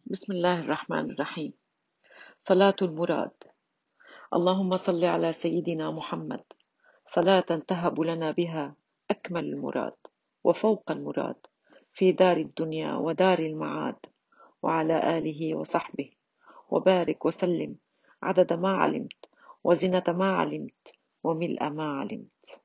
بسم الله الرحمن الرحيم. صلاة المراد. اللهم صل على سيدنا محمد صلاة تهب لنا بها أكمل المراد وفوق المراد في دار الدنيا ودار المعاد، وعلى آله وصحبه، وبارك وسلم عدد ما علمت وزنة ما علمت وملء ما علمت.